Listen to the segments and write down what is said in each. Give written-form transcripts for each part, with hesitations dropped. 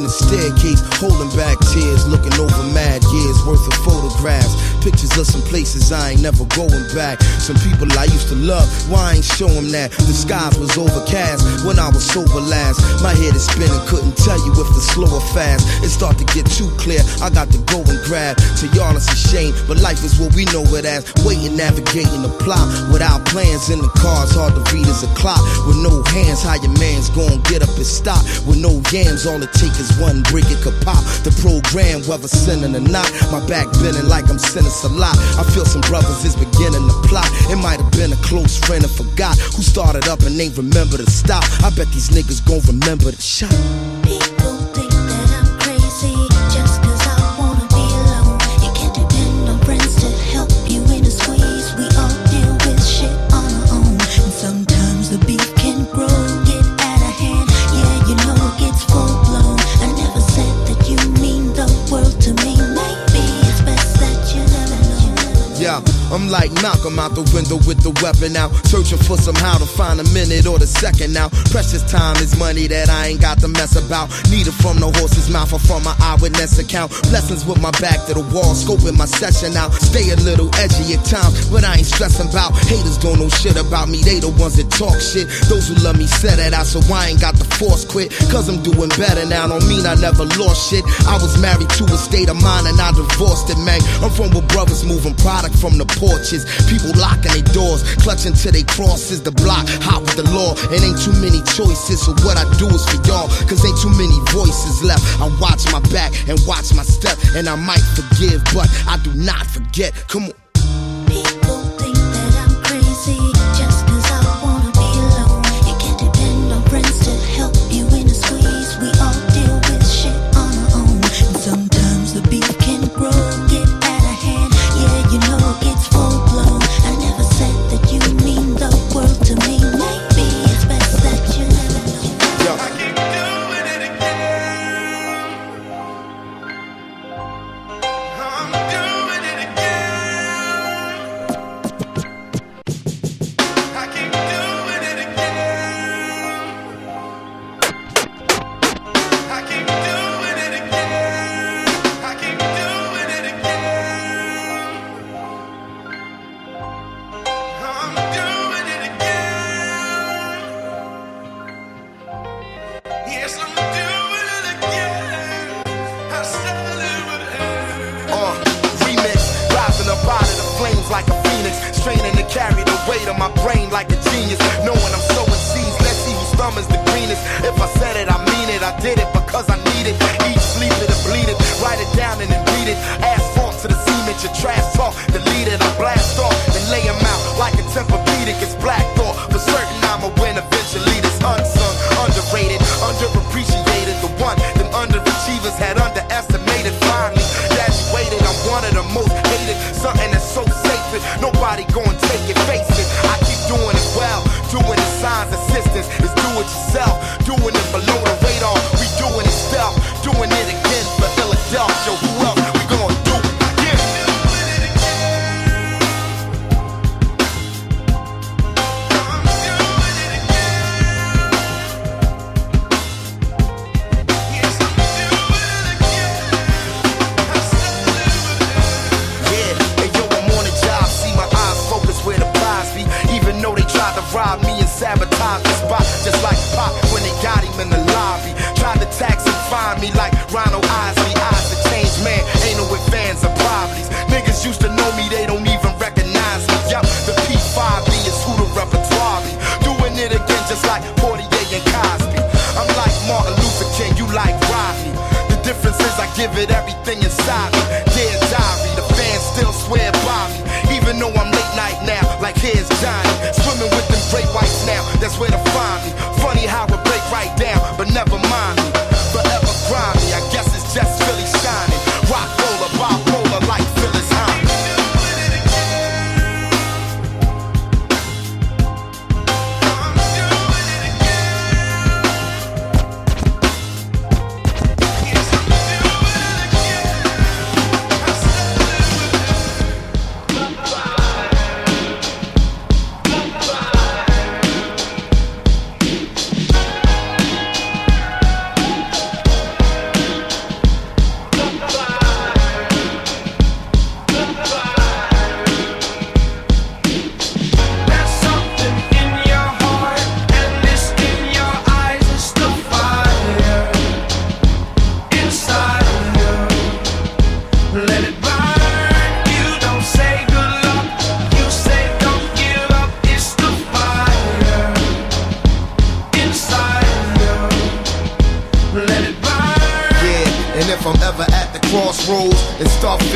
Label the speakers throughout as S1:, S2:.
S1: the staircase, holding back tears, looking over mad years worth of photographs. Pictures of some places I ain't never going back. Some people I used to love, why I ain't show them that? The skies was overcast when I was sober last. My head is spinning, couldn't tell you if it's slow or fast. It start to get too clear, I got to go and grab. To y'all it's a shame, but life is what we know it as. Waiting, navigating the plot, without plans in the cars, hard to read as a clock. With no hands, how your man's gon' get up and stop? With no yams, all it take is one brick, it could pop. The program, whether sinning or not, my back bending like I'm sinning a lot. I feel some brothers is beginning to plot. It might have been a close friend and forgot who started up and ain't remember to stop. I bet these niggas gon' remember the shot.
S2: People think that I'm crazy just cause I wanna be alone. You can't depend on friends to help you in a squeeze. We all deal with shit on our own, and sometimes the beef can grow, get out of hand. Yeah, you know it gets full blown. I never said that you mean the world to me. Maybe it's best that you never know.
S1: Yeah, I'm like Malcolm out the window with the weapon out, searching for somehow to find a minute or the second now. Precious time is money that I ain't got to mess about. Need it from the horse's mouth or from my eyewitness account. Blessings with my back to the wall, scoping my session out. Stay a little edgy at times, but I ain't stressing about. Haters don't know shit about me, they the ones that talk shit. Those who love me said it out, so I ain't got the force quit. Cause I'm doing better now, don't mean I never lost shit. I was married to a state of mind and I divorced it, man. I'm from where brothers moving product from the porches. People locking their doors, clutching to their crosses. The block, hot with the law, and ain't too many choices. So what I do is for y'all, cause ain't too many voices left. I watch my back and watch my step, and I might forgive, but I do not forget. Come on.
S2: People think that I'm crazy just cause I wanna be alone. You can't depend on friends to help you in a squeeze. We all deal with shit on our own, and sometimes the beef can grow, get out of hand. Yeah, you know it gets full blown. I never said that you mean the world to me. Maybe it's best that you never know.
S1: Yo.
S3: I keep doing it again. I'm doing it again. I keep doing it again. I keep doing it again. I keep doing it again. I'm doing it again. Yes, I'm doing it again. I said it would hurt.
S4: Remix, rising up out of the flames like a phoenix, straining to carry the weight of my brain like a genius. Knowing I'm sowing seeds, let's see whose thumb is the greenest. If I said it, I mean it. I did it because I need it. Eat, sleep it, and bleed it. Write it down and then read it. Asphalt to the cement, your trash talk. Delete it, I blast off and lay him out like a Tempur-Pedic. It's black thought. For certain, I'ma win eventually. This unsung, underrated, underappreciated. The one them underachievers had underestimated. Finally graduated, I'm one of the most hated. Something that's so sacred, nobody gon' take it. Face it, I keep doing it well. Doing the signs, assistance is do it yourself. Doing it below the radar, we doing it stealth. Doing it again for Philadelphia. Who else we gon' do it again?
S3: Doing it again. I'm doing it again. Yes, I'm doing it again. I said it would hurt.
S4: Yeah, and yo, I'm on the job. See my eyes focus where the prize be. Even though they tried to rob me and sabotage the spot, just like Pop when they got him in the lobby. Tried to tax and fine me like Ronald Isley. Eyes to change, man. Ain't no ifs, fans or problems. Niggas used to know me, they don't even recognize me. Yup, the P5B is who the repertoire be. Doing it again just like 48 and Cosby. I'm like Martin Luther King, you like Rodney. The difference is I give it everything inside me. Dear diary, the fans still swear by me. Even though I'm late night now, like here's Johnny. Swimming with them great whites now, that's where to find me. Funny how it break right down, but never mind me. Forever grimy, I guess it's just Philly shining. Rock roller, bipolar like Phyllis Hyman.
S3: Doing it again. I'm doing it again. Yes, I'm doing it again. I said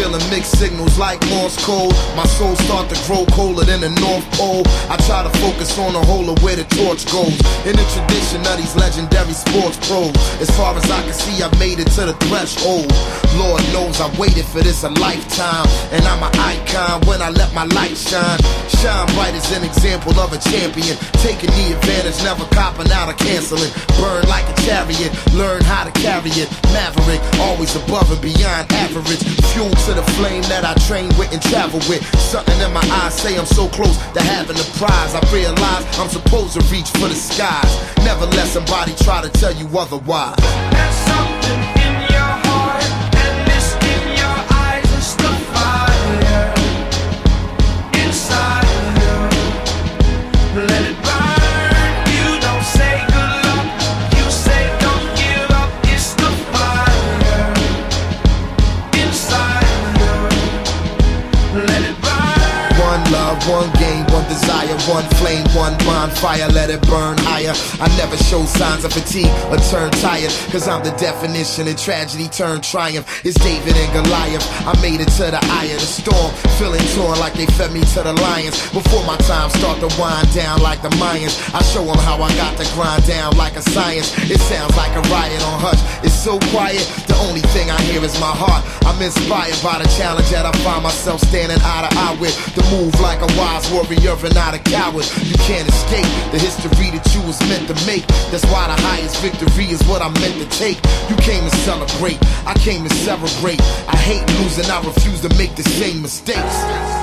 S1: Feeling mixed signals like Morse code. My soul start to grow colder than the North Pole. I try to focus on the whole of where the torch goes. In the tradition of these legendary sports pros, as far as I can see, I've made it to the threshold. Lord knows I waited for this a lifetime, and I'm an icon when I let my light shine. Shine bright as an example of a champion, taking the advantage, never copping out or canceling. Burn like a chariot, learn how to carry it. Maverick, always above and beyond average. Fuel to the flame that I train with and travel with. Something in my eyes say I'm so close to having the prize. I realize I'm supposed to reach for the skies. Never let somebody try to tell you otherwise.
S3: There's something in your heart, and it's in your eyes. It's the fire inside of you. Let it burn. You don't say good luck, you say don't give up. It's the fire inside of you. Let it burn.
S1: One love, one game, one desire, one flame, one bonfire, let it burn higher. I never show signs of fatigue or turn tired, cause I'm the definition of tragedy turned triumph. It's David and Goliath, I made it to the eye of the storm, feeling torn like they fed me to the lions. Before my time start to wind down like the Mayans, I show them how I got to grind down like a science. It sounds like a riot on Hush, it's so quiet, the only thing I hear is my heart. I'm inspired by the challenge that I find myself standing eye to eye with. The move like a wise warrior and not a coward. You can't escape the history that you was meant to make. That's why the highest victory is what I'm meant to take. You came to celebrate, I came to celebrate. I hate losing, I refuse to make the same mistakes.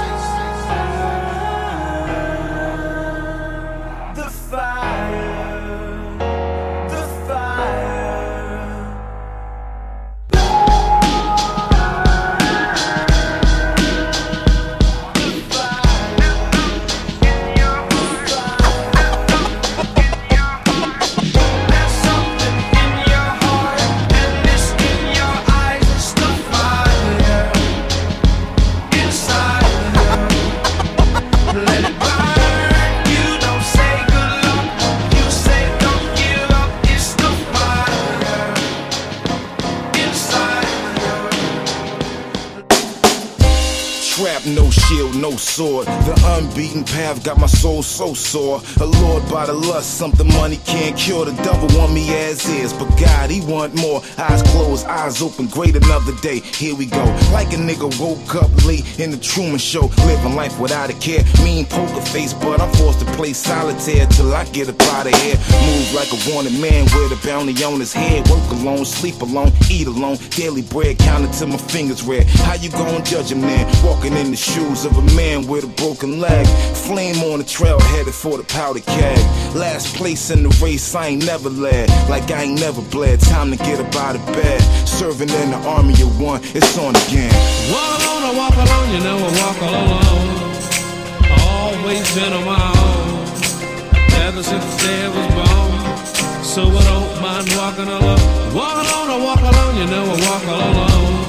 S3: The fire, the fire.
S5: No shield, no sword. The unbeaten path got my soul so sore. Allured by the lust, something money can't cure. The devil want me as is, but God, he want more. Eyes closed, eyes open, great another day. Here we go. Like a nigga woke up late in the Truman Show, living life without a care. Mean poker face, but I'm forced to play solitaire till I get up out of here. Move like a wanted man with a bounty on his head. Work alone, sleep alone, eat alone. Daily bread counted till my fingers red. How you gon' judge him then? Walking in the shoes of a man with a broken leg. Flame on the trail headed for the powder keg. Last place in the race, I ain't never led. Like I ain't never bled. Time to get up out of bed. Serving in the army of one, it's on again.
S6: Walk alone, I walk alone, you know I walk alone. Always been on my own, ever since the day I was born. So I don't mind walking alone. Walk alone, I walk alone, you know I walk alone.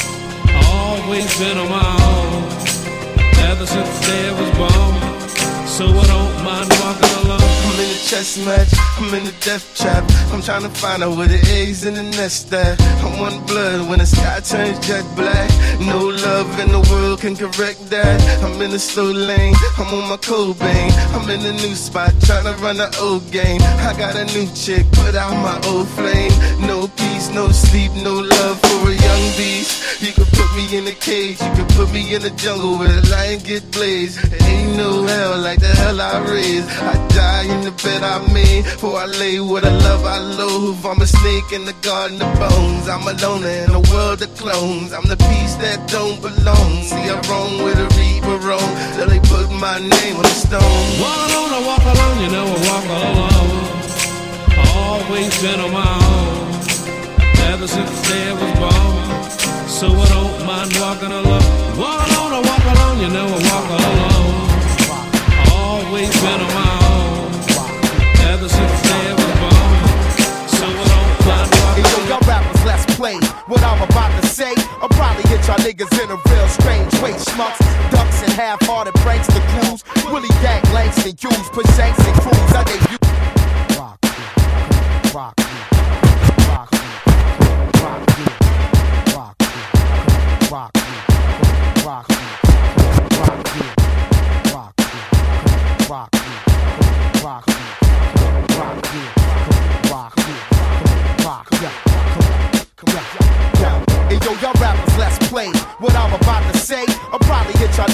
S6: Always been on my own, ever since the day I was born. So I don't mind walking alone.
S3: I'm in a chess match, I'm in a death trap. I'm trying to find out where the eggs in the nest at. I'm one blood when the sky turns jet black. No love in the world can correct that. I'm in a slow lane, I'm on my Cobain. I'm in a new spot, trying to run the old game. I got a new chick, put out my old flame. No peace, no sleep, no love for a young beast. You could put me in a cage, you could put me in the jungle where the lion get blazed. Ain't no hell like the hell I raised. I die in the bed I made, for I lay with a love I loathe. I'm a snake in the garden of bones. I'm a loner in a world of clones. I'm the piece that don't belong. See, I'm wrong with a reaper wrong, till they put my name on the stone.
S6: Walk alone, I walk alone, you know I walk alone. Always been on my own, ever since the day I was born. So I don't mind walking alone. Walk alone, I walk alone, you know I walk alone. Always been on my own, ever since the day I was born. So I don't mind walking
S1: Hey, yo, y'all rappers, let's play what I'm about to say. I'll probably hit y'all niggas in a real strange way. Schmucks, ducks, and half-hearted pranks to clues. Willie Gang, Langston, Hughes, put Shanks and crews. I gave you rock, rock, rock, rock, rock, rock, rock, rock.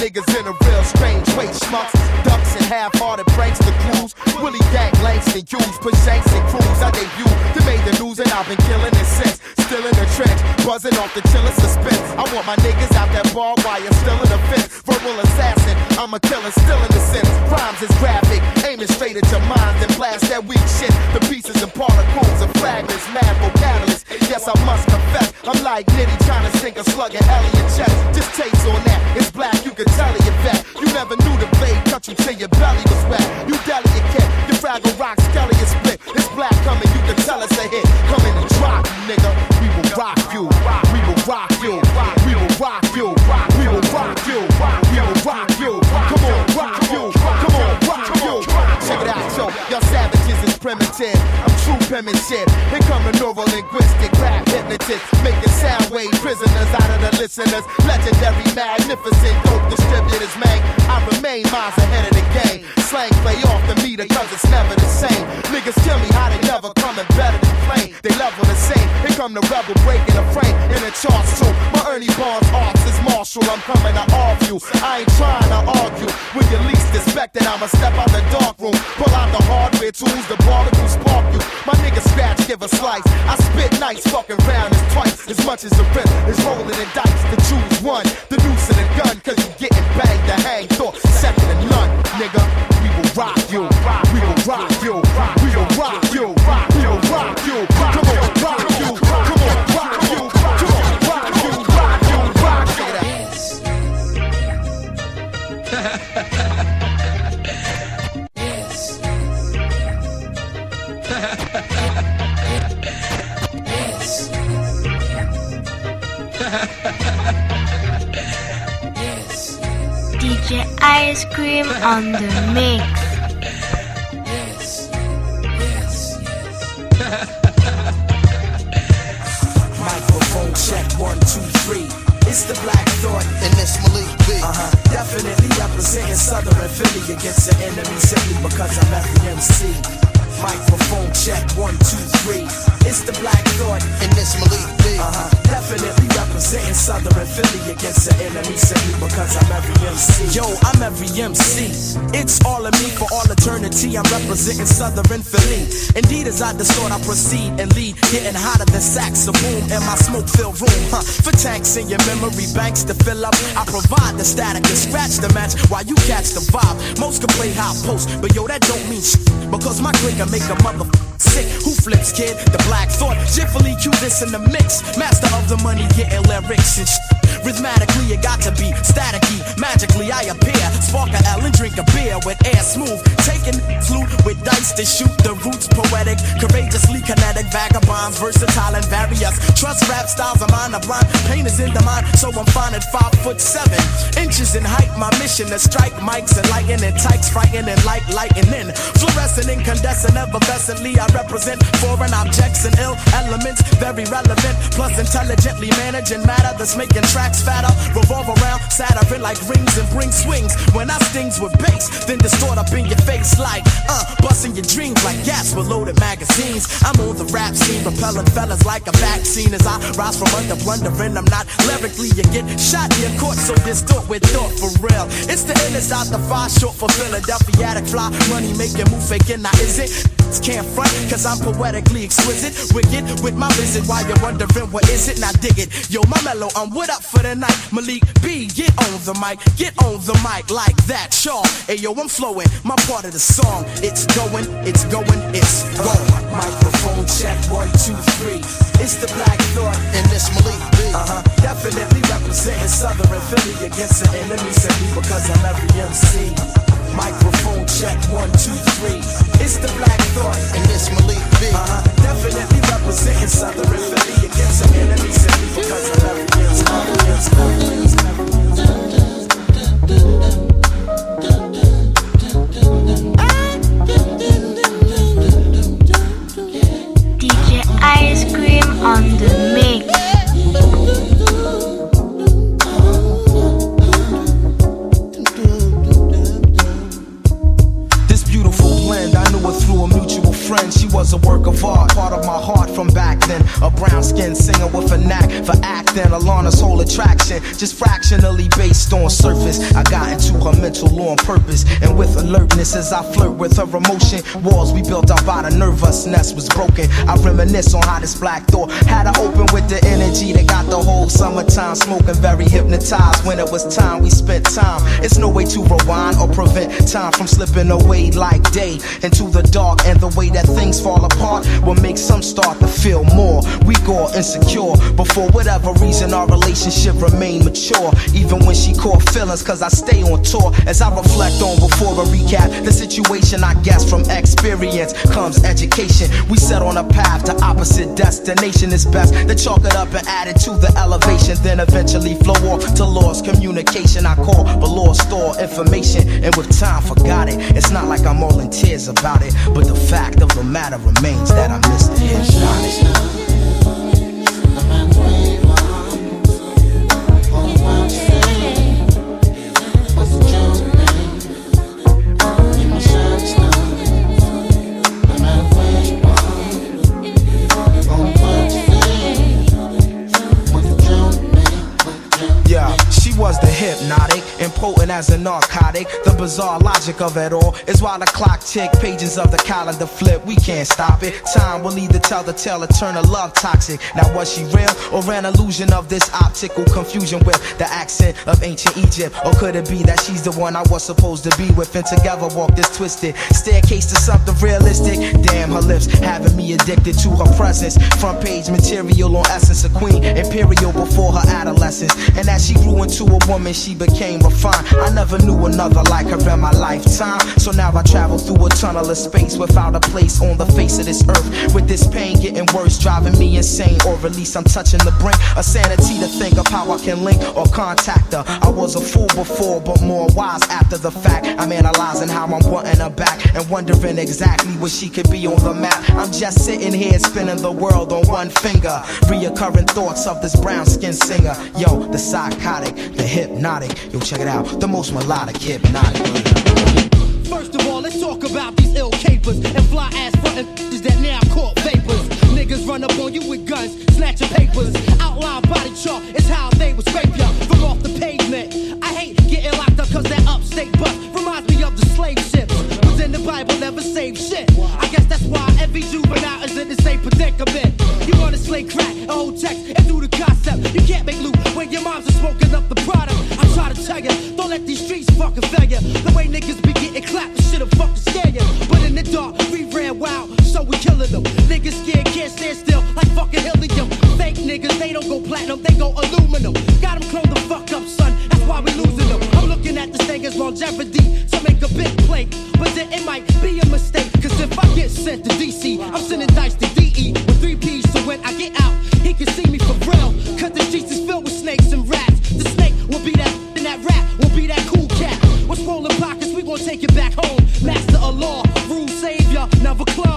S4: niggas in a real strange way. Schmucks, ducks, and half-hearted pranks. The clues, Willie Gang, Langston Hughes, push Shanks and Crews. I debut, they made the news and I've been killing it since. Still in the trench, buzzing off the chillin' suspense. I want my niggas out that barbed wire, still in the fence. Verbal assassin, I'm a killer, still in the sense. Rhymes is graphic, aiming straight at your mind, then blast that weak shit. The pieces and particles of fragments, mad vocalists. Yes, I must confess, I'm like Nitty trying to sink a slug in Elliot chest. Just taste on that, it's black, you can tell it, you bet. You never knew the blade cut you till your belly was wet. You delicate cat, your fragile rock skelly is split. It's black coming, you can tell it's a hit. Coming to drop you, nigga. We will rock you, we will rock you, we will rock you, we will rock you, we will rock you. Come on, rock you, come on, rock you. Check it out, yo, y'all savages is primitive. I'm true penmanship. Here come the neuro-linguistic rap hypnotist, making sound wave prisoners out of the listeners. Legendary, magnificent, dope distributors, man. I remain miles ahead of the game. Slang play off the meter, cause it's never the same. Niggas tell me how they never coming better than plain. They level the same. Here come the rebel breaking the frame in the charts too. My Ernie Barnes arts is Marshall. I'm coming to off you. I ain't trying to argue. When you least expect it, I'ma step out the dark room. Pull out the hardware tools, the barnacle spark you. My nigga scratch, give a slice. I spit nice, fucking round is twice as much as the rip is rolling in dice. To choose one, the noose and the gun, cause you getting banged to hang. Thought second to none, nigga. We will rock you. We will rock you. We will rock you. We will rock you. Come on, rock you. Come on, rock you. Come on, rock you. Rock you. Rock you.
S7: DJ Ice Cream on the mix.
S8: Microphone check 1, 2, 3. It's the Black Thought
S1: And this Malik B.
S8: Definitely representing Southern Philly against the enemy simply because I'm every MC. Microphone check 1, 2, 3. It's the Black Thought
S1: And this Malik B.
S8: Definitely representing Southern Philly against the enemy simply because I'm every MC. Yo, I'm every MC. It's all of me for all eternity. I'm representing Southern Philly. Indeed, as I distort, I proceed and lead, getting hotter than saxophone in my smoke-filled room. For tanks in your memory banks to fill up, I provide the static and scratch the match while you catch the vibe. Most can play high post, but yo, that don't mean shit because my click can make a sick. Who flips, kid? The Black Thought. Jiffily cue this in the mix. Master of the money, getting lyrics and Rhythmatically, it got to be staticky. Magically, I appear. Spark a L and drink a beer with air smooth. Taking flute with dice to shoot the roots. Poetic, courageously kinetic. Vagabonds, versatile and various. Trust rap styles of mine are blind. Pain is in the mind, so I'm fine at 5'7" inches in height. My mission to strike mics and lightning tykes. Frightening like lightning. Fluorescent, incandescent, effervescently. I represent foreign objects and ill elements. Very relevant, plus intelligently managing matter that's making tracks fatter. Revolve around, Saturn like rings and bring swings. When I stings with bass, then distort up in your face like busting your dreams like gas with loaded magazines. I'm on the rap scene, repelling fellas like a vaccine as I rise from under blundering. I'm not lyrically, you get shot in court, so distort with thought for real. It's the N, it's out the 5, short for Philadelphia, attic fly, money making, move faking. Now is it? Can't front, cause I'm poetically exquisite. Wicked with my visit while you're wondering what is it? Now dig it. Yo, my mellow, I'm what up for the night. Malik B, get on the mic like that, y'all. Hey yo, I'm flowing, my part of the song. It's going, it's going, it's going. Microphone check 1, 2, 3. It's the Black Thought
S1: And this Malik B.
S8: Definitely representing Southern Philly against the enemy simply because I'm every MC. Microphone check 1, 2, 3. It's the Black Thought
S1: And this Malik B.
S8: Definitely representing Southern Philly against the enemy simply because I'm every MC.
S7: DJ Ice Cream on the mix.
S8: This beautiful blend, I knew her through a mutual friend. She was a work of art, part of my heart from back then. Jackson, a brown-skinned singer with a knack for acting. Alana's whole attraction, just fractionally based on surface. I got into her mental law on purpose, and with alertness as I flirt with her emotion. Walls we built out by the nervousness was broken. I reminisce on how this black door had to open with the energy that got the whole summertime smoking, very hypnotized. When it was time, we spent time. It's no way to rewind or prevent time from slipping away like day into the dark. And the way that things fall apart will make some start to feel more weak or insecure. But for whatever reason, our relationship remained mature, even when she caught feelings, cause I stay on tour. As I reflect on before a recap the situation, I guess from experience comes education. We set on a path to opposite destination. It's best to chalk it up and add it to the elevation, then eventually flow off to lost communication. I call but lost store information, and with time forgot it. It's not like I'm all in tears about it, but the fact of the matter remains that I missed the hypnotic. Was the hypnotic, impotent as a narcotic. The bizarre logic of it all is while the clock tick, pages of the calendar flip, we can't stop it. Time will either tell the tale or turn a love toxic. Now was she real or an illusion of this optical confusion with the accent of ancient Egypt? Or could it be that she's the one I was supposed to be with, and together walk this twisted staircase to something realistic? Damn, her lips having me addicted to her presence. Front page material on essence, a queen imperial before her adolescence. And as she grew into a woman, she became refined. I never knew another like her in my lifetime. So now I travel through a tunnel of space without a place on the face of this earth. With this pain getting worse, driving me insane, or at least I'm touching the brink of sanity to think of how I can link or contact her. I was a fool before, but more wise after the fact. I'm analyzing how I'm wanting her back and wondering exactly where she could be on the map. I'm just sitting here spinning the world on one finger, reoccurring thoughts of this brown-skinned singer. Yo, the psychotic, the hypnotic, yo, check it out, the most melodic hypnotic.
S9: First of all, let's talk about these ill capers and fly ass frontin' that now caught vapors. Niggas run up on you with guns, snatching papers. Outline body chart is how they would scrape ya from off the pavement. I hate getting locked up cause that upstate bus reminds me of the slave ships. What's in the Bible never saved shit. I guess that's why every juvenile is in the same predicament. You wanna slay crack, a whole text, and do the concept. You can't make loot when your moms are smoking up the product. I try to tell ya, don't let these streets fucking fail ya. The way niggas be getting clapped, this shit'll fucking scare ya. But in the dark, we ran wild, so we killing them. Niggas scared, can't stand still, like fucking helium. Fake niggas, they don't go platinum, they go aluminum. Got them cloned the fuck up, son, that's why we losing them. I'm looking at this thing as longevity, so make a big play. But then it might be a mistake, cause if I get sent to DC, I'm sending dice to DE with 3 P's, so when I get out, he can see me for real. Cause the streets is filled with snakes and rats. The snake will be that, and that rat will be that cool cat. What's rolling pockets, we gon' take it back home. Master of law, rule savior, never clone.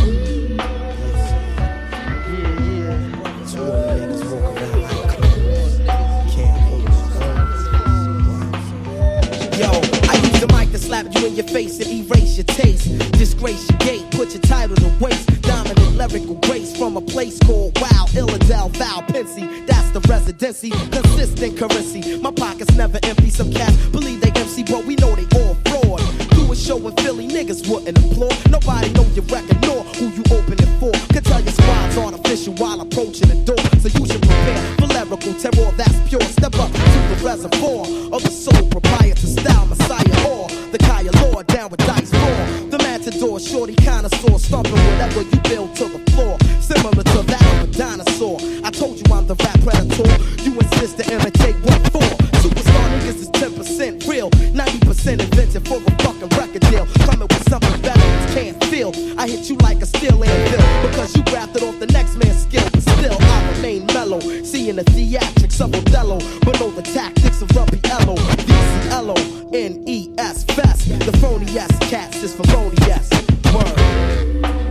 S8: Yo, I use the mic to slap you in your face and erase your taste. Disgrace your gate, put your title to waste. Dominant lyrical grace from a place called Wow, Illidale, Val, Pensy. That's the residency, consistent currency. My pockets never empty. Some cats believe they MC, but we know they all fraud. Do a show in Philly, niggas wouldn't applaud. Nobody know your record nor who you open it for. Can tell your squad's artificial while approaching the door. So you should prepare for lyrical terror that's pure. Step up to the reservoir of the soul proprietor style Messiah or the Kaya Lord down with dice floor. The matador, shorty connoisseur, stomping whatever you build to the floor. Similar to that of a dinosaur. I told you I'm the rap predator. You insist to imitate what for? Superstar niggas is 10% real, 90% invented for a fucking record deal. Coming with something better you can't feel. I hit you like a steel anvil because you grafted off the next man's skill. But still I remain mellow, seeing the theatrics of Othello, but know the tactics of Rumpiello. VCLONES fest. The phony ass cats is felonious. Word.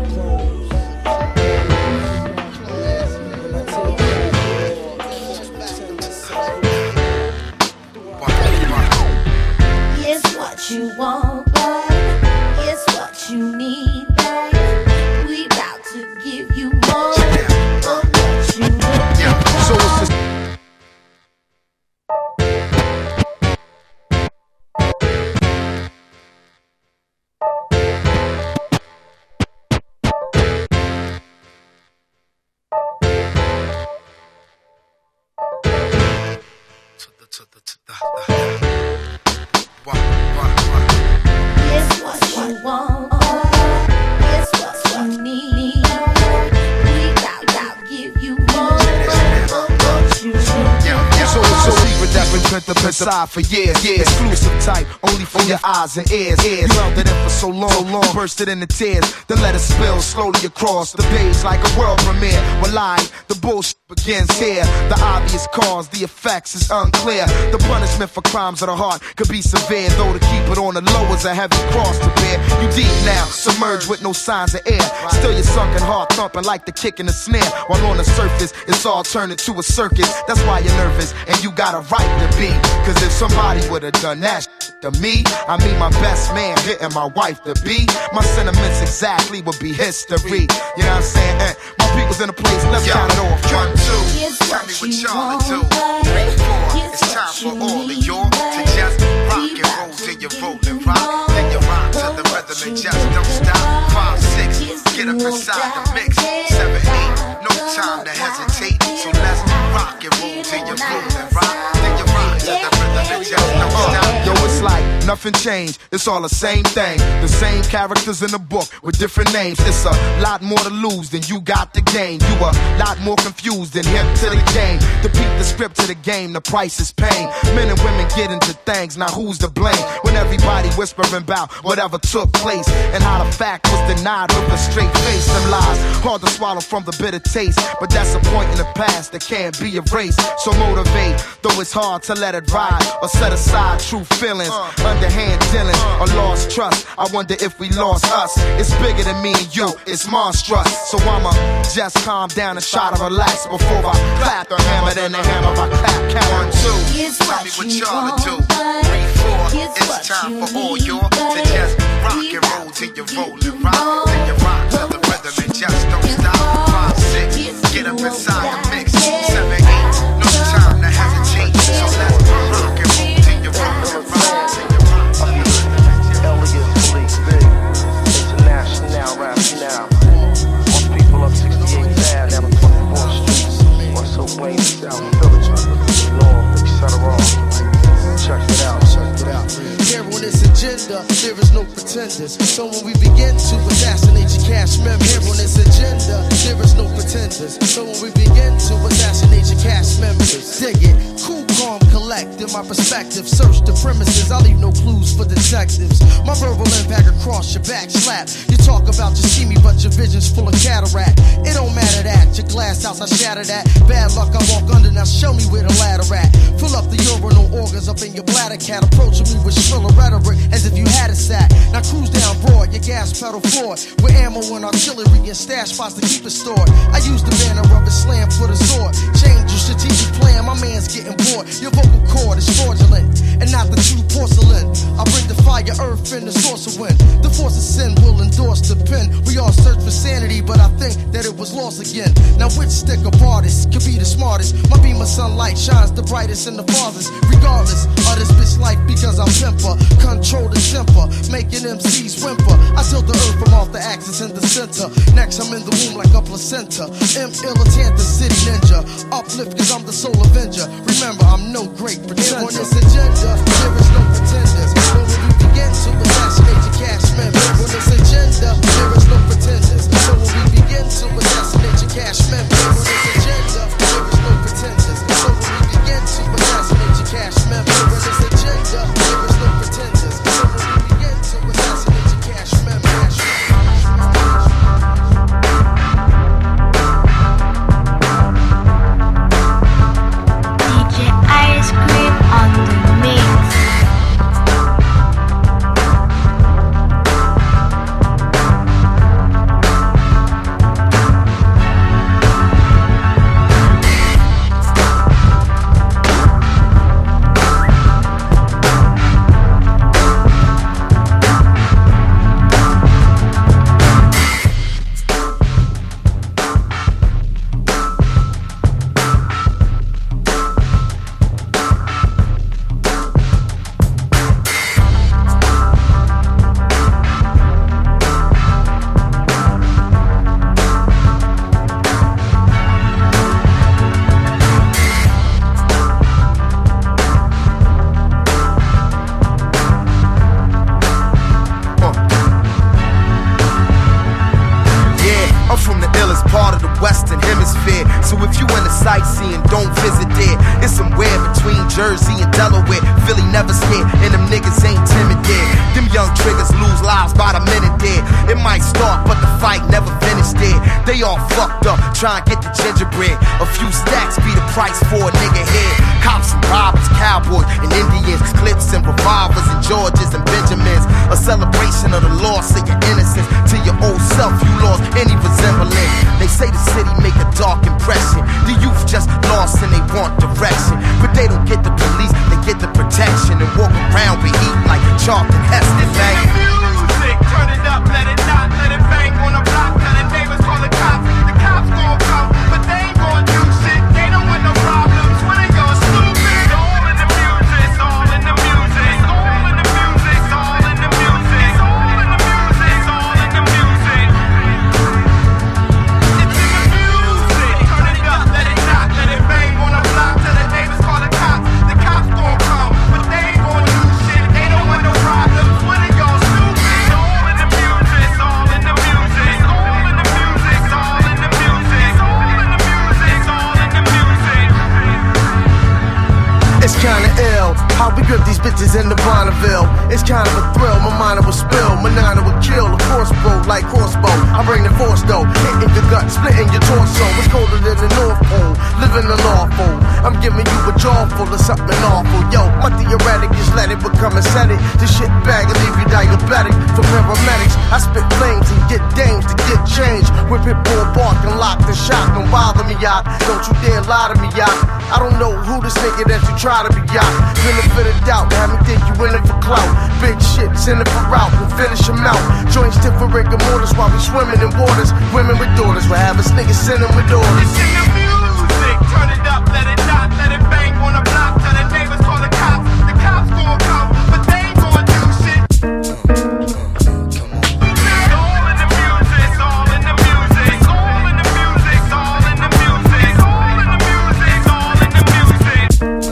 S2: It's what you want, babe. It's what you need, babe. We about to give you more.
S1: the best side for years. Exclusive type, only for your eyes and ears. You held it in for so long, bursted into tears. Then let it spill slowly across the page like a world premiere. Well, the bullshit begins here. The obvious cause, the effects is unclear. The punishment for crimes of the heart could be severe, though to keep it on the low is a heavy cross to bear. You deep now, submerged with no signs of air. Still your sunken heart thumping like the kick in the snare. While on the surface, it's all turned into a circus. That's why you're nervous, and you got a right to be. Cause if somebody would've done that to me, I mean my best man hitting my wife to be, my sentiments exactly would be history. You know what I'm saying? My people's in the place, let's count it off. 1, 2, tell me what y'all to do. 3, 4, it's time for all of y'all to just rock and roll till you roll and rock. Then you rock to the rhythm and just don't stop. 5, 6, get up inside the mix. 7, 8, no time to hesitate. So let's rock and roll till you roll and rock. Then you rock to the rhythm and just don't stop. Yo, it's like nothing changed, it's all the same thing. The same characters in the book with different names. It's a lot more to lose than you got to gain. You a lot more confused than hip to the game. To beat the script to the game, the price is pain. Men and women get into things, now who's to blame? When everybody whispering about whatever took place and how the fact was denied with a straight face. Them lies, hard to swallow from the bitter taste, but that's a point in the past that can't be erased. So motivate, though it's hard to let it ride or set aside true feelings, underhand dealings or lost trust. I wonder if we lost us. It's bigger than me and you, it's monstrous. So I'ma just calm down and try to relax before I clap the hammer, then the hammer I clap. Count 1, 2, tell me what y'all to do. 3, 4, it's time for all y'all to just rock and roll till you roll and rock. Then you rock to the rhythm and just don't stop. 5, 6, get up inside the mix. 7, 8, no time to hesitate. So let's rock and roll till you roll and rock. International rap now. Most people up 68 down the 24th streets. Russell Wayne, South Village, North, etc. Check it out. Here on this agenda, there is no pretenders. So when we begin to assassinate your cash members, here on this agenda, there is no pretenders. So when we begin to assassinate your cash members, dig it, cool, calm, collect. In my perspective, search the premises. I leave no clues for detectives. My verbal impact across your back, slap. You talk about you see me, but your vision's full of cataract. It don't matter that your glass house, I shatter that. Bad luck, I walk under. Now show me where the ladder at. Fill up the urinal organs up in your bladder, cat. Approaching me with shriller rhetoric as if you had a sack. Now cruise down broad, your gas pedal forward, with ammo and artillery and stash spots to keep it stored. I use the banner of Islam for the sword. Change your strategic plan, my man's getting bored. Your vocal cord is fraudulent and not the true porcelain. I bring the fire, earth, and the source of wind. The force of sin will endorse the pen. We all search for sanity, but I think that it was lost again. Now which stick of artist could be the smartest? My beam of sunlight shines the brightest and the farthest. Regardless of this bitch life, because I'm pimper, control the temper, making MCs whimper. I tilt the earth from off the axis in the center. Next I'm in the womb like a placenta. M. the city ninja. Uplift cause I'm the soul avenger. Remember I'm no great pretender. On this agenda, there is no pretenders. But when we begin to assassinate your cash members, on this agenda, there is no pretenders. So when we begin to assassinate your cash members, on this agenda, there is no pretenders. So when we begin to assassinate your cash members, on this agenda, there is no pretenders. So when we begin to assassinate your cash members.
S7: DJ Ice Cream on the mix.
S1: fight, never finished it. They all fucked up, trying to get the gingerbread. A few stacks be the price for a nigga head. Cops and robbers, cowboys and Indians, clips and revolvers and Georges and Benjamins. A celebration of the loss of your innocence. To your old self, you lost any resemblance. They say the city make a dark impression. The youth just lost and they want direction. But they don't get the police, they get the protection. And walk around with heat like Charlton Heston, man.
S4: Music, turn it up, let it not, let it bang on the block. Tell the neighbors, call the cops. The cops gon' come, but they ain't gon' do shit. They don't want no problems. When they go stupid, all in the music, all in the music, all in the music, all in the music, all in the music, all in the music. It's in the music. Turn it up, let it not, let it bang on the block. Tell the neighbors, call the cops. The cops gon' come, but they ain't gon' do shit. They don't want no problems. When they go stupid, all in the music, all in the music, all in the music, all in the music, all in the music, all in the music.
S3: It's kinda ill how we grip these bitches in the Bonneville. It's kind of a thrill, my mind will spill, my nana will kill a crossbow like crossbow. I bring the force though, hitting your gut, splitting your torso. It's colder than the North Pole, living the lawful. I'm giving you a jaw full of something awful. Yo, my theoretic is let it become aesthetic. This shit bag and leave you diabetic. For paramedics, I spit flames and get dames to get change. With pit bull bark and locked and shot. Don't bother me, yacht. Don't you dare lie to me, yacht. I don't know who this nigga that you try to be, yacht. Benefit of doubt, have me think you in it for clout. Big shit, send it for route, we'll finish him out. Joints stiff for rigor mortis while we swimming in waters. Women with daughters will have us niggas sending with daughters.
S4: It's in the music, turn it up, let it not, let it bang on the block. Tell the neighbors, call the cops. The cops gon' come, but they ain't gon' do shit. All in the music, all in the music, all in the music, all in the music, all in the music, all in the music.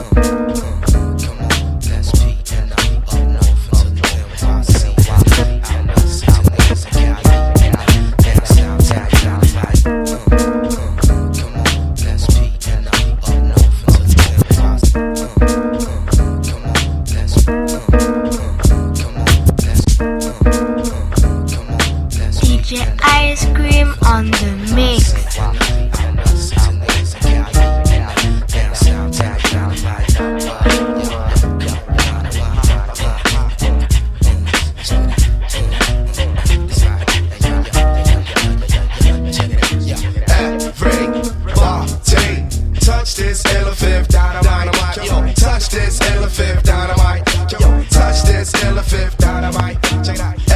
S7: DJ Ice Cream on the mix.
S4: Touch this elephant dynamite. Yo, touch this elephant dynamite. Yo, touch this elephant dynamite. Check it out.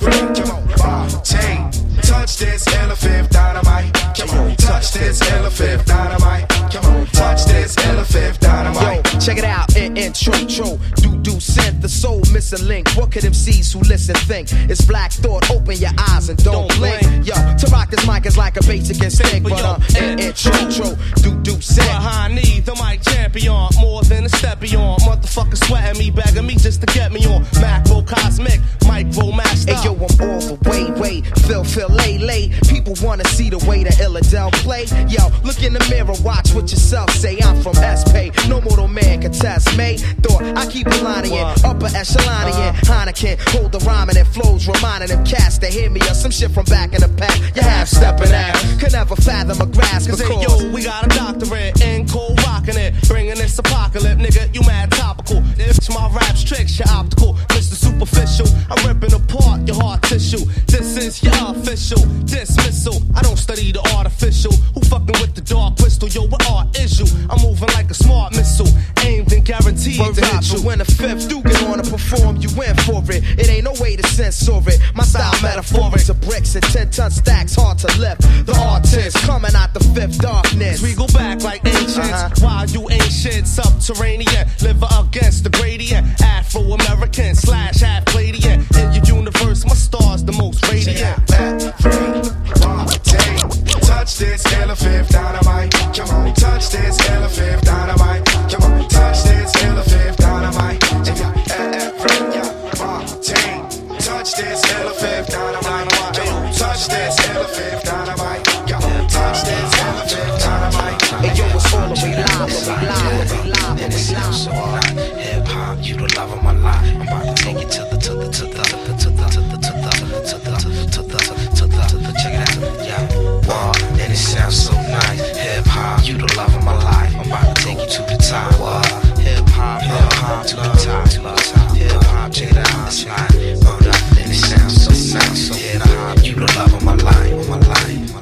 S4: Touch this elephant dynamite. Come on, touch this elephant dynamite. Come on, touch this elephant dynamite.
S8: Yo, check it out, intro, do sent the soul missing link. What could MCs who listen think? It's black thought, open your eyes and don't blink. Yo, to rock this mic is like a basic instinct, but intro, do sent.
S10: Behind me, the mic champion, more than a step beyond. Motherfucker sweating me, begging me just to get me on. Macro cosmic, micro master.
S8: Hey yo, I'm all the way, feel, lay. People wanna see the way that Illadel play. Yo, look in the mirror, watch what yourself say. I'm from S-Pay, no mortal man can test me. Thought I keep a line in, upper echelon in. Heineken, hold the rhyming and flows, reminding them cats to hear me or some shit from back in the pack. You half stepping out, could never fathom a grasp.
S10: Cause hey, yo, we got a doctorate in cold rocking it, bringing this apocalypse, nigga. You mad topical. It's my rap's tricks, your optical, Mr. Superficial. I'm ripping apart your heart tissue. This is your official dismissal. I don't study the artificial. Who fucking with the dark crystal? Yo, what art is you? I'm moving like a smart missile, aimed and guaranteed to hit you.
S8: When the fifth Duke wanna perform, you in for it. It ain't no way to censor it. My style metaphoric to bricks and 10-ton stacks, hard to lift. The artist coming out the fifth darkness.
S10: We go back like ancients. While you ain't shit, subterranean, live against the gradient. Afro-American / half Palladian. In your universe, my star's the most radiant.
S4: Touch this elephant dynamite. Come on, touch this elephant dynamite. Come on, touch this elephant dynamite. Touch this elephant dynamite. Come on, touch this elephant dynamite. Come on, touch this elephant dynamite.
S8: Hey yo, it's all the way live.
S11: And it sounds so hot. Hip hop, you the love of my life. I'm about to take it to the check.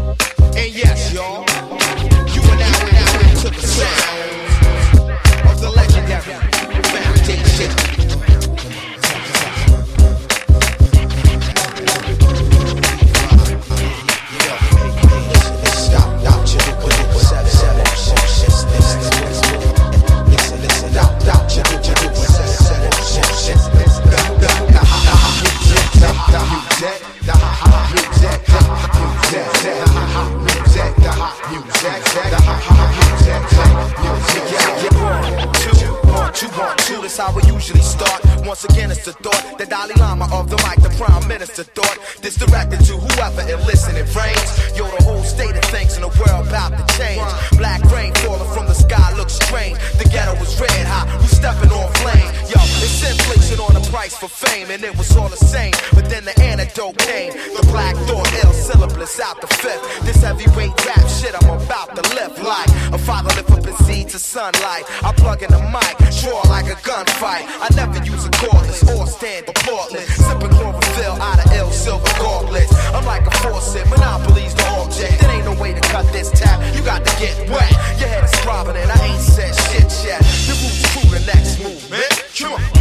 S4: And yes, y'all, you are now into the sound of the legendary Foundation. That's how we usually start. Once again, it's the thought, the Dalai Lama of the mic, the Prime Minister thought. This directed to whoever it listening frames. Yo, the whole state of things in the world about to change. Black rain falling from the sky looks strange. The ghetto was red hot, we stepping on flame. Yo, it's inflation on the price for fame, and it was all the same. But then the antidote came. The black thought, ill syllabus out the fifth. This heavyweight rap shit I'm about to lift like a father lift up his seed to sunlight. I plug in the mic, draw like a gunfight. I never use a cordless or stand portless. Sipping chlorophyll out of ill silver gauntlets. I'm like a faucet, monopoly's the object. There ain't no way to cut this tap, you got to get wet. Your head is throbbing and I ain't said shit yet. The roots through the next movement. Come on.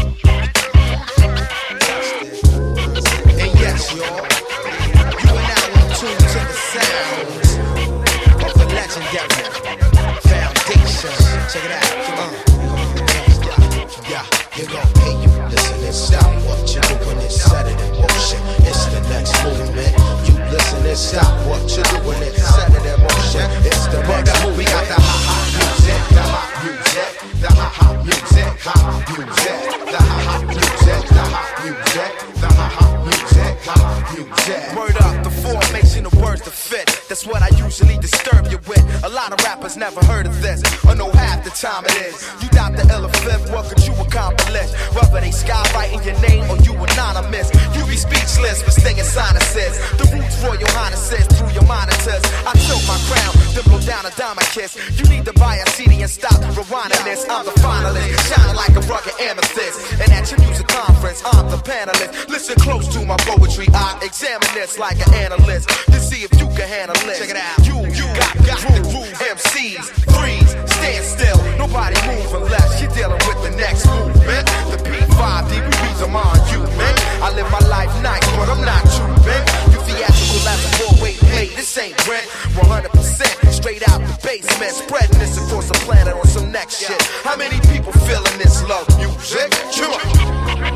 S4: And yes, y'all, you are now in tune to the sounds of the legendary Foundation. Check it out, come on. Yeah, you gon' pay you. Listen and stop what you're doing and set it in motion. It's the next movement. You listen and stop what you're doing and set it in motion. It's the next movement. We got the hot music, the hot music, the hot music, hot music, the hot music, the hot music, the hot music, hot music. Word up, the formation of words to fit. That's what I usually disturb you with. A lot of rappers never heard of this, or know half the time it is. You doubt the ill fifth, what could you accomplish? Whether they skywriting your name or you anonymous, you be speechless for stinging sinuses. The roots Royal Highnesses through your monitors. I tilt my crown, then blow down a diamond kiss. You need to buy a CD and stop rewinding this. I'm the finalist, shining like a rugged amethyst. And at your music conference, I'm the panelist. Listen close to my poetry, I examine this like an analyst to see if you can handle it. Check it out. You got the groove. MCs, freeze, stand still. Nobody move unless you're dealing with the next movement. The P5D, we beat them on you, man. I live my life nice, but I'm not you, man. You theatrical as a 4-way plate. This ain't rent, 100% straight out the basement. Spreading this across the planet on some next shit. How many people feeling this love music? Come on.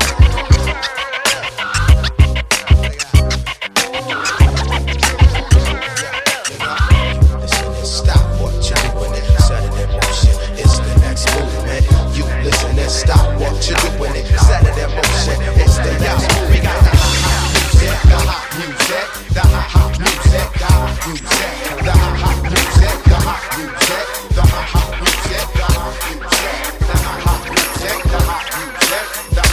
S4: Stop what you're doing it, set it in motion. It's the next move. We got the hot music, the hot music, the hot music, the hot music, the hot music, the hot music, the hot music, the hot music, the hot music, the hot music,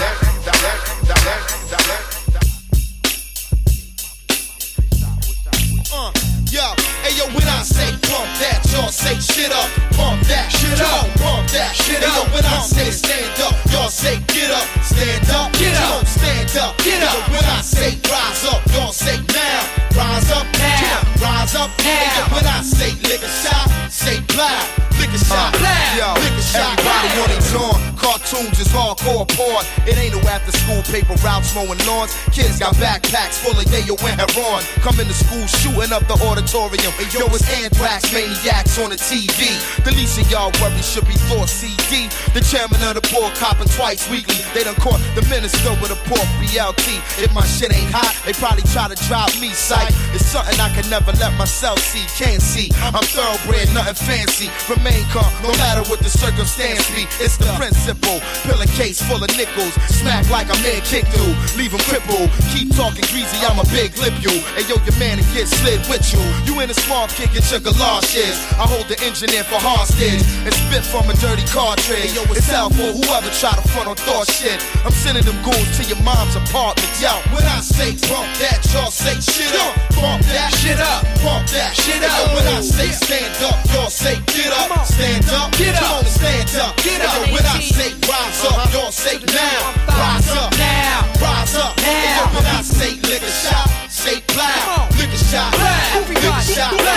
S4: yo, hey yo, when I say pump that, y'all say shit up, pump that, shit up, pump that, shit up. When I say stand up, y'all say get up, stand up, get up, stand up, get up. When I say rise up, y'all say now, rise up, now, rise up, now. When I say lick a shot, say plow, lick a shot, yo, lick a shot. Everybody on its lawn, cartoons is hardcore porn. It ain't no after school paper routes mowing lawns. Kids got backpacks full of yayo and heroin. Coming to school shooting up the auditorium. And yo, it's anthrax maniacs on the TV. The least of y'all worries should be Thor CD. The chairman of the board copping twice weekly. They done caught the minister with a pork BLT. If my shit ain't hot, they probably try to drive me psych. It's something I can never let myself see. Can't see, I'm thoroughbred, nothing fancy. Remain calm, no matter what the circumstance be. It's the principle. Pillar case full of nickels. Smack like a man kick through. Leave him crippled. Keep talking greasy, I'm a big lip you. Hey yo, your man and get slid with you. You in a small kick at your galoshes. I hold the engineer for hostage and spit from a dirty cartridge. Yo, it's out for whoever try to front on thought shit. I'm sending them goons to your mom's apartment. Yo, when I say bump that, y'all say shit up. Bump that shit up. Bump that shit up. Yo, when I say stand up, y'all say get up. Stand up. Get up. Come on, stand up. Get up. Yo, when I say rise up, y'all say now. Rise up now. Rise up now. Yo, when I say lick a shot, say plow. Lick a shot. Lick a shot.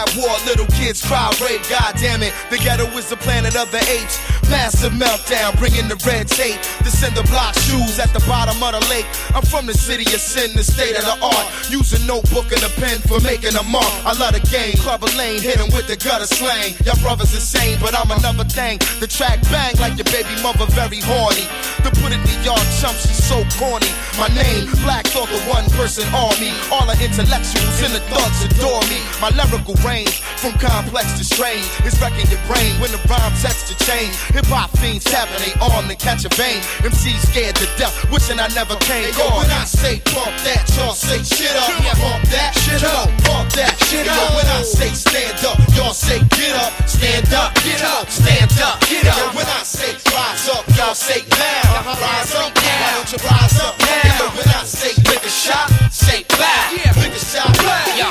S1: at war, little kids cry rape. God damn it, the ghetto is the planet of the apes. Massive meltdown, bringing the red tape. The cinder block shoes at the bottom of the lake. I'm from the city of sin, the state of the art. Use a notebook and a pen for making a mark. I love the game, club a lane, hit him with the gutter slang. Y'all brothers insane, but I'm another thing. The track bang like your baby mother very horny. To put it to y'all chumps, she's so corny. My name, Black Thought, the one person army. All the intellectuals and the thugs adore me. My lyrical range, from complex to strange, is wrecking your brain when the rhyme text to change. Hip-hop fiends tapping they arm to catch a vein. MCs scared to death, wishing I never came. Yo, when I say pump that, y'all say shit up. Pump that, shit up. Pump that, shit up. Yo, when I say stand up, y'all say get up. Stand up, get up. Stand up, get up. Yo, when I say rise up, y'all say down. Rise up, why don't you rise up now? Yo, when I say lick a shot, say back. Lick a shot, back.
S9: You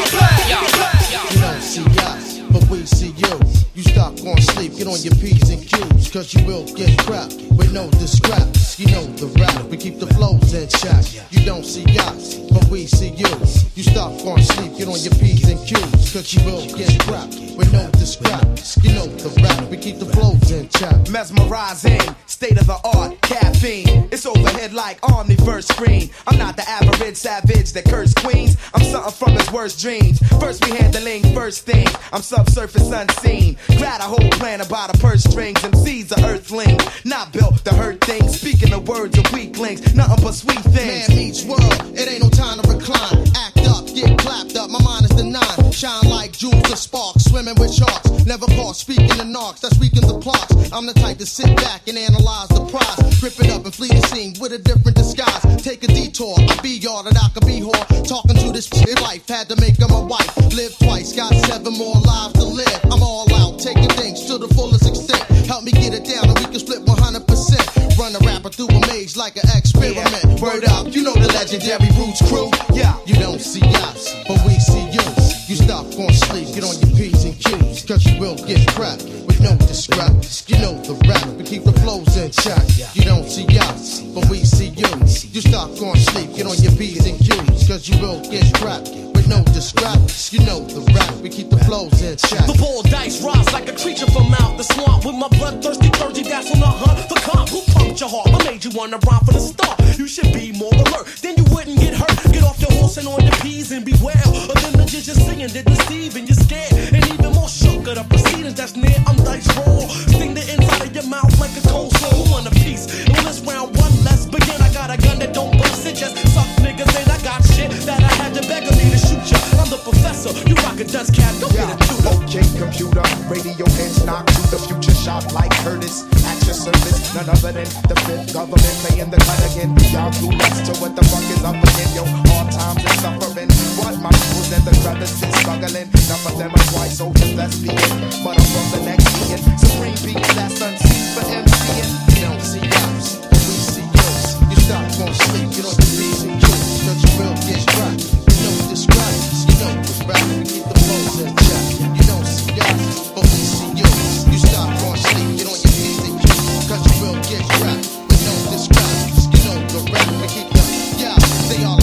S9: don't see us, but we see you. You stop going sleep, get on your P's and Q's, cause you will get cracked with no discraps. You know the rap, we keep the flows in check. You don't see us, but we see you. You stop going sleep, get on your P's and Q's, cause you will get cracked with no discraps. You know the rap, we keep the flows in check.
S8: Mesmerizing, state of the art, caffeine. It's overhead like omniverse screen. I'm not the average savage that curse queens. I'm something from his worst dreams. First we handling first thing. I'm subsurface unseen. Glad a whole plan about a purse strings. MC's a earthling, not built to hurt things. Speaking the words of weaklings, nothing but sweet things.
S9: Man meets world, it ain't no time to recline. Act up, get clapped up, my mind is the nine. Shine like jewels of sparks, swimming with sharks. Never caught speaking the narcs, that's weaken the clocks. I'm the type to sit back and analyze the prize. Grip it up and flee the scene with a different disguise. Take a detour, I be y'all that I could be whore. Talking to this shit life, had to make her my wife. Live twice, got 7 more lives to live. I'm all out, taking things to the fullest extent. Help me get it down and we can split 100%. Run a rapper through a maze like an experiment. Word up, you know the legendary Roots crew. Yeah, you don't see us, but we see you. You stop going sleep, get on your P's and Q's, cause you will get cracked with no discraps. You know the rap, we keep the flows in check. You don't see us, but we see you. You stop going sleep, get on your P's and Q's, cause you will get cracked with no discraps. You know the rap, we keep the flows in check.
S10: The ball dice rise like a creature from out the swamp. With my bloodthirsty clergy that's on the hunt for comp. Who pumped your heart? What made you wanna rhyme from the start? You should be more alert, then you wouldn't get hurt. Get off your horse and on your P's and beware of them the just singing, they deceive and you're scared. And even more shook at the proceedings that's near. I'm dice roll, sting the inside of your mouth like a cold soul. Who want a piece? And when it's round one, let's begin. I got a gun that don't bust it, just suck niggas in. I got shit that I had to beg of me to shoot ya. I'm the professor, you rock a dust cap, go get a tutor.
S12: Okay, computer, radio heads knock to the future shot like Curtis. At your service, none other than the fifth government playing the cut again. Y'all clueless to what the fuck is up again. Yo, hard times and suffering. What my peoples and the brothers still struggling. None of them are white soldiers, let's be it. But I'm from the next being. Supreme being that's unseen for MCing.
S9: You don't see us, but we see you. You stop going sleep, get on your P's and Q's, cause you will get cracked with no discraps. You know the rap, we keep the flows in check. You don't see us, but we see you. You stop going sleep, get on your P's and Q's, cause you will get cracked with no discraps. You know the rap, we keep the, yeah, they all.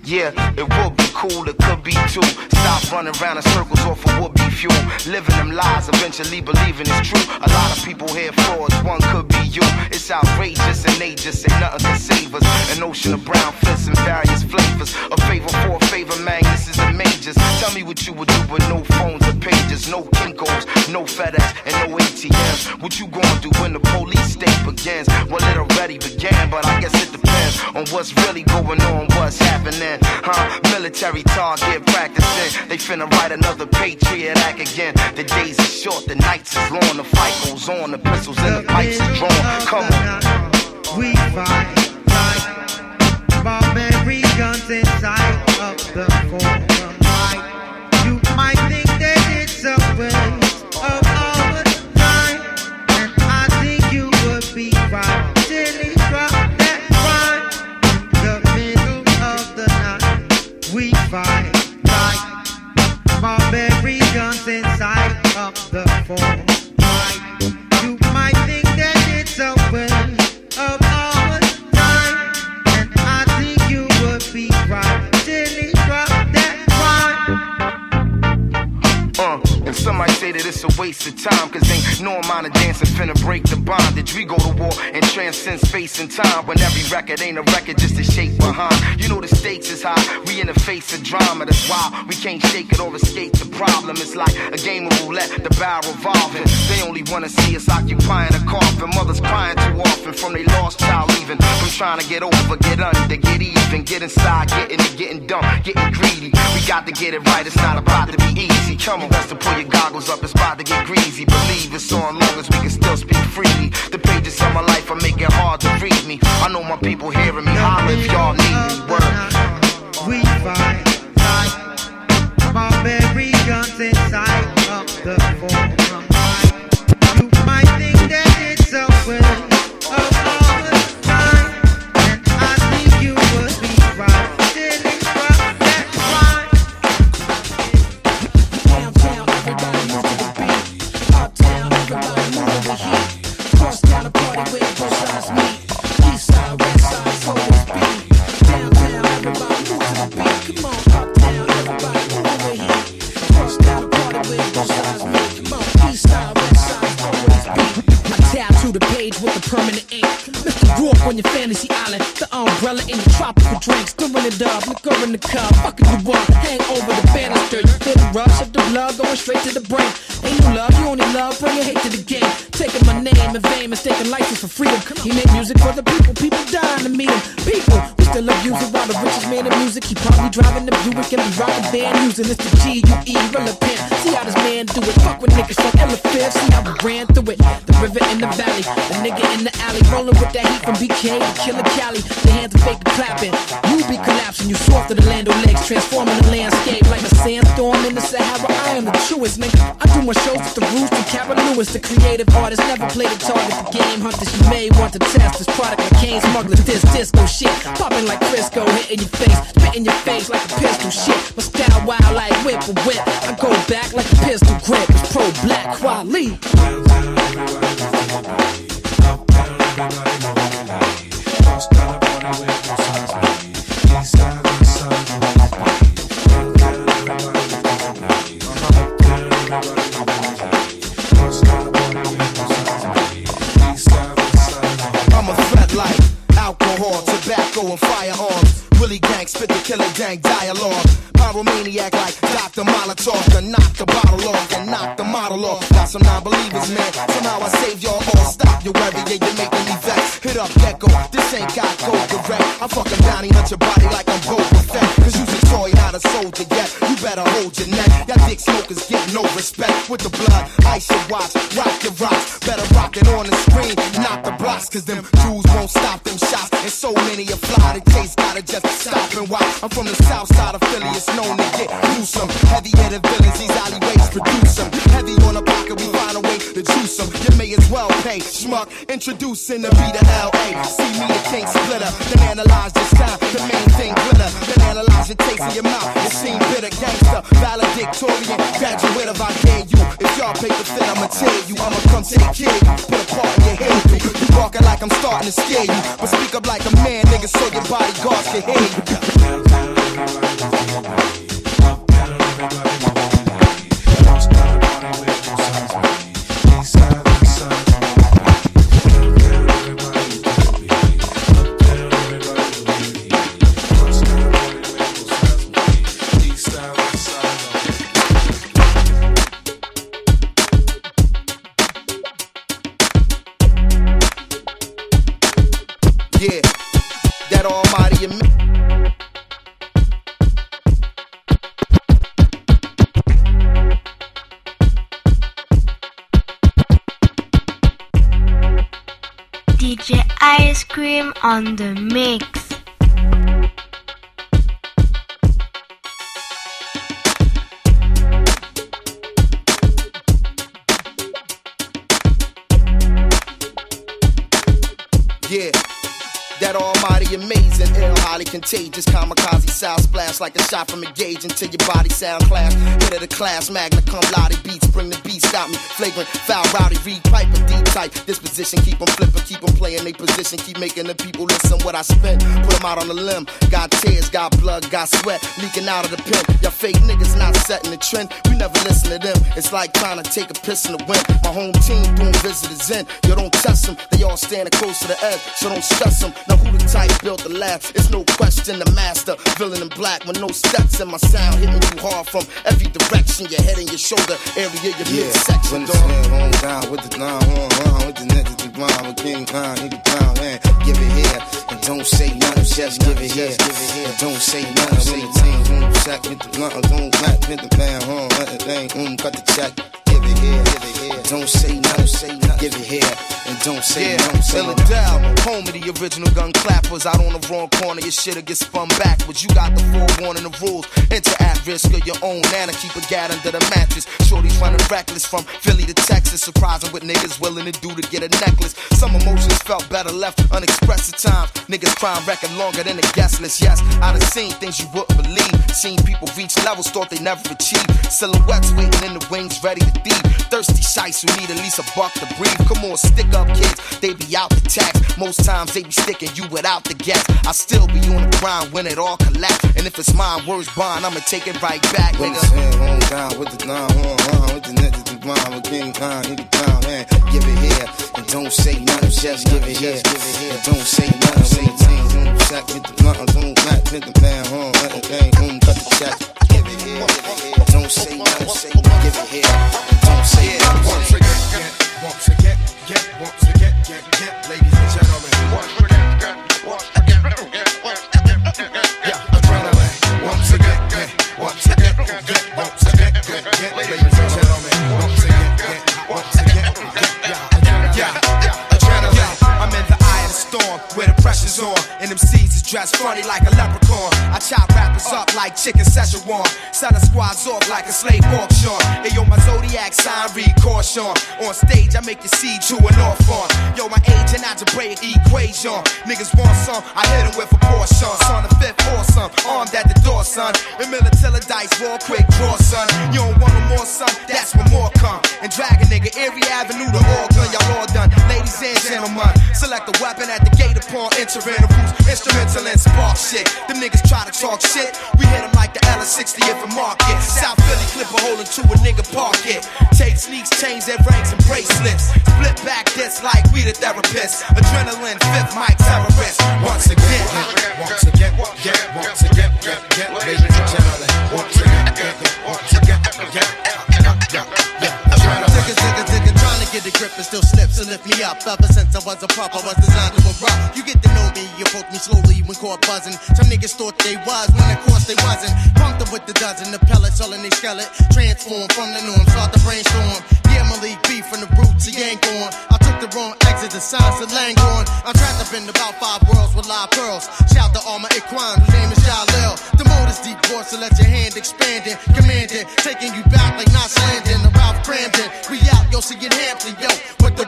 S4: Yeah, it would be cool, it could be too. Stop running around in circles off of would-be fuel. Living them lies, eventually believing it's true. A lot of people here frauds, one could be you. It's outrageous and they just say nothing can save us. An ocean of brown fists and various flavors. A favor for a favor, man, this is the majors. Tell me what you would do with no phones or pages, no Kinkos, no FedEx, and no ATMs. What you gonna do when the police state begins? Well, it already began, but I guess it depends on what's really going on, what's happening. Military target practicing. They finna write another Patriot Act again. The days are short, the nights is long. The fight goes on, the pistols and the pipes are drawn. Come on.
S13: We fight like barbarian guns inside of the forum. You might think that it's a waste of our time, and I think you would be right till he drop that rhyme in the middle of the night. We fight like barbarian guns inside of the forum. You might think that it's a waste of our time, and I think you would be right till he drop that rhyme.
S4: And some might say that it's a waste of time, cause ain't no amount of dancing finna break the bondage. We go to war and transcend space and time, when every record ain't a record, just a shape behind. You know the stakes is high, we in the face of drama. That's why we can't shake it or escape the problem. It's like a game of roulette, the barrel revolving. They only wanna see us occupying a coffin. Mothers crying too often from they lost child leaving. From trying to get over, get under, get even, get inside, getting it, getting dumb, getting greedy. We got to get it right, it's not about to be easy. Come on, best to pull your goggles up, it's about to get greasy. Believe it's on long as we can still speak freely. The pages of my life are making hard to read me. I know my people hearing me holler if y'all need me. Word.
S13: We fight like barbarian guns inside of the forum. You might think that it's a waste of our time, and I think you would be right till it drop that line.
S8: Downtown, everybody move to the beat. Uptown, everybody move to the heat. Cross town, a party where both sides meet. East side, west side, so it's beat. Downtown, everybody move to the beat. Come on, uptown, everybody move to the heat. Cross town, a party where both sides meet. Come on, east side, west side, always beat. I tab to the page with the permanent ink. Mr. Rourke on your fantasy island. The umbrella in your tropical drinks. Stirring it up, liquor in the cup. Fucking you up, hang over the banister. You feel the rush of the blood going straight to the brain. Ain't no love, you only love, bringing hate to the game. Taking my name in vain, mistaking license for freedom. He made music for the people, people dying to meet him. People, we still abuse it while the richest man in music. He probably driving the Buick and be rocking van using. It's the G-U-E, relevant. See how this man do it. Fuck with niggas from Elephant. See how we ran through it. The river in the valley, the nigga in the alley, rolling with that heat from BK to Killer Cali. The hands are fake clapping. You be collapsing, you soft to the land of legs, transforming the landscape like a sandstorm in the Sahara. I am the truest, nigga. I do my shows with the Roost and Cara Lewis. The creative artist never played a target. The game hunters, you may want to test this product like Kane smugglers. This disco shit, popping like Crisco, hitting your face, spitting your face like a pistol shit. My style wild like whip or whip. I go back like a pistol grip. It's pro black quality.
S1: I'm a threat like alcohol, tobacco, and firearms. Willie gang, spit the killer gang dialogue. Pyromaniac like Dr. Molotov. To knock the bottle off and knock the model off. Got some non-believers, man. Somehow I saved y'all all. Stop your worry, yeah, you're making me vex. Hit up Gecko, this ain't got gold direct. I'm fucking bounty, hunt your body like I'm Boba Fett. Cause you's a toy, not a soldier yet. You better hold your neck. Y'all dick smokers get no respect. With the blood, ice your watch, rock your rocks. Better rock it on the screen, not the blocks. Cause them Jews won't stop them shots. And so many are fly, the case gotta just stop and watch. I'm from the south side of Philly, it's known to get gruesome. Heavy-headed villains, these alleyways produce them. Heavy on the pocket, we find a way to juice them. You may as well pay, schmuck. Introducing the B to L.A. See me, the king splitter. Then analyze this time, the main thing glitter. Then analyze your taste in your mouth. It seem bitter, gangster, valedictorian, graduate of I dare you. If y'all pay the fit, I'ma tell you. I'ma come take care of you, put a part in your head. You walking like I'm starting to scare you, but speak up like a man, nigga, so your bodyguards can hear you. that almighty
S7: DJ Ice Cream on the mix.
S1: Yeah, that almighty amazing, ill, highly contagious, kamikaze sound splash like a shot from a gauge until your body sound clash. Hit of the class, magna cum laude beats, bring the beat, stop me, flagrant, foul, rowdy, read pipe, a deep type. Disposition, keep them flipping, keep them playing they position, keep making the people listen what I spend. Put them out on the limb, got tears, got blood, got sweat, leaking out of the pen. Y'all fake niggas not setting the trend, we never listen to them. It's like trying to take a piss in the wind. My home team doing visitors in, yo don't test them, they all standing close to the edge, so don't stress them. Now who the type built the last? It's no question the master, villain in black with no steps in my sound, hitting you hard from every direction, your head and your shoulder area, your midsection.
S5: When the home down with the with the niggas, the blind, with King Khan, nigga down, man. Give it here and don't say nothing, just give it here. And don't say nothing. When the team check with the blunt, don't back with the man, everything, cut the check. Give it here, don't say nothing, give it here, and don't say nothing.
S1: Philadelphia, home of the original gun clappers. Out on the wrong corner, your shit'll get spun backwards. You got the forewarning, the rules. Enter at risk of your own nana, keep a gat under the mattress. Shorty's running reckless from Philly to Texas, surprising what niggas willing to do to get a necklace. Some emotions felt better left unexpressed at times. Niggas crime record longer than the guest list. Yes, I done seen things you wouldn't believe. Seen people reach levels thought they never achieved. Silhouettes waiting in the wings, ready to thief. Thirsty shites who need at least a buck to breathe. Come on, stick up kids, they be out the tax. Most times they be sticking you without the gas. I still be on the grind when it all collapse. And if it's mine, words bond, I'ma take it right back, nigga.
S5: When the down with the with the niggas, the blind, with King Khan, nigga down, man. Give it here and don't say nothing, just give it here. And don't say nothing. When the team check with the blunt, don't back with the man, everything, cut the check. Give it here, don't say nothing, give it here. Don't say nothing.
S12: Once again, ladies and gentlemen. Yeah, adrenaline. Once again, ladies and gentlemen. I'm in the eye of the storm where the pressure's on, and them seeds is dressed funny like a leprechaun. I chop rappers up like chicken Szechuan, selling squads off like a slave auction. Hey yo, my zodiac sign read caution. On stage I make you see true and off on. Yo, my age and algebraic equation. Niggas want some, I hit them with a portion. Son of fifth awesome, armed at the door, son. And Militilla dice, roll quick draw, son. You don't want no more, son, that's when more come. And drag a nigga, Erie Avenue to Oregon, y'all all done. Ladies and gentlemen, select a weapon at the gate upon entering the roots. Instrumental and spark shit. Them niggas try to talk shit, we hit them like the LS60 if a market. South Philly clip a hole into a nigga park it. Take sneaks, chains, and rings and bracelets. Split back this like we the therapists. Adrenaline, fifth mic terrorist. Once again, ladies and gentlemen. Once again, trying to get the grip and still slips and lift me up. Ever since I was a pup, I was designed to erupt. You get to know me, you approach me slowly when caught buzzing. Some niggas thought they was, when of course they wasn't. Pumped up with the dozen, the pellets all in they skeleton. Transform from the norm, start to brainstorm. Yeah, Malik B from the roots, he ain't gone. I took the wrong exit, the signs of Langorn. I'm trapped up in about 5 worlds with live pearls. Shout to all my Iquan, whose name is Jalil. The mode is deep voice, so let your hand expand it. Commanding, taking you back like Knots Landing. The Ralph Cramden, we out, yo, see it Hampton, yo. Put the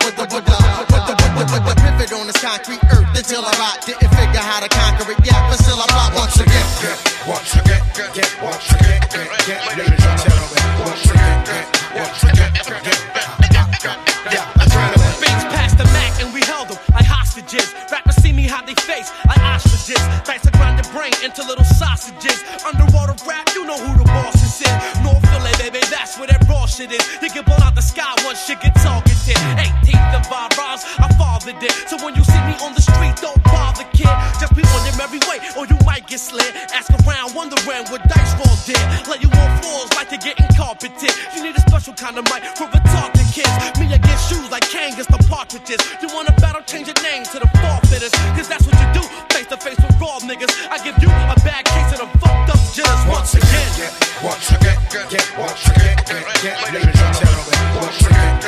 S12: pivot on this concrete earth until I rot. Didn't figure how to conquer it yet, but still I rock once again. Once again, ladies and gentlemen. Once again,
S14: Beats past the Mac and we held them like hostages. Rappers see me how they face like ostriches. Dice to grind the brain into little sausages. Underwater rap, you know who the boss is in. North Philly, baby, that's where that raw shit is. You get blown out the sky once shit get targeted. 18th of our rhymes, I fathered it. So when you see me on the street, don't bother, kid. Just be on your merry way, or you might get slid. Ask around, wondering what dice roll did. Let you on floors like you're getting carpeted. You need a special kind of mic for retarded kids. Me against shoes like Kane against the partridges. You wanna battle, change your name to the forfeiters. Cause that's what you do, face to face with bald niggas. I give you a bad case of the fucked up jitters once again.
S12: Once again, ladies and gentlemen, once again.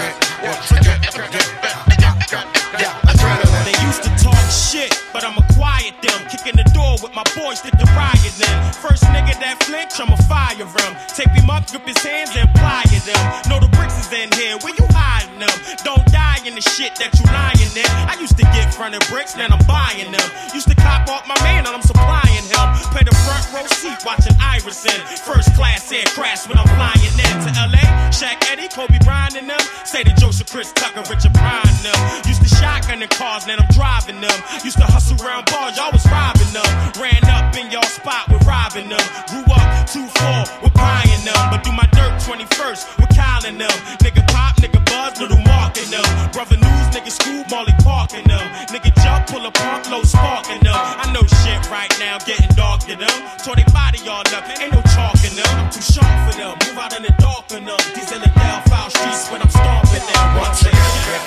S15: They used to talk shit, but I'ma quiet them. Kicking the door with my boys, stick the riot them. First nigga that flinch, I'ma fire him. Tape him up, grip his hands and ply them. Know the bricks is in here, where you hiding them? Don't die in the shit that you lying in. I used to get fronted bricks, now I'm buying them. Used to cop off my man, and I'm supplying him. Play the front row seat, watching Iverson. First class air crash when I'm flying in to LA. Shaq Eddie, Kobe Bryant and them. Say to Joseph, Chris Tucker, Richard Pryor and them. Used to shotgun the cars, now I'm driving them. Used to hustle around bars, y'all was robbing them. Ran up in y'all spot with robbing them. Grew up 2-4 with buying them. But do my dirt 21st with Kyle and them. Nigga pop, nigga buzz, little Mark and them. Brother News, nigga Scoop, Molly Park and them. Nigga jump, pull a pump, low spark and them. I know shit right now, getting dark to them. Tore they body all up, ain't no chalk in them. I'm too sharp for them, move out in the dark in them. These in the down foul streets when I'm stomping them. Once again,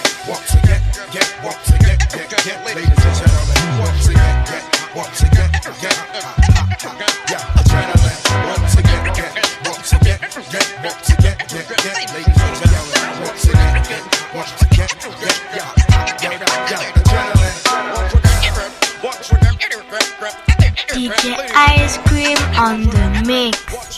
S12: ladies and gentlemen, once again, adrenaline, once again, ladies and gentlemen, once again,
S7: DJ Ice Cream on the mix.